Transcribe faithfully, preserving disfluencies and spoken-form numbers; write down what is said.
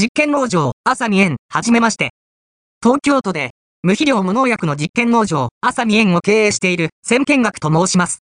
実験農場、朝見園、はじめまして。東京都で、無肥料無農薬の実験農場、朝見園を経営している、千見学と申します。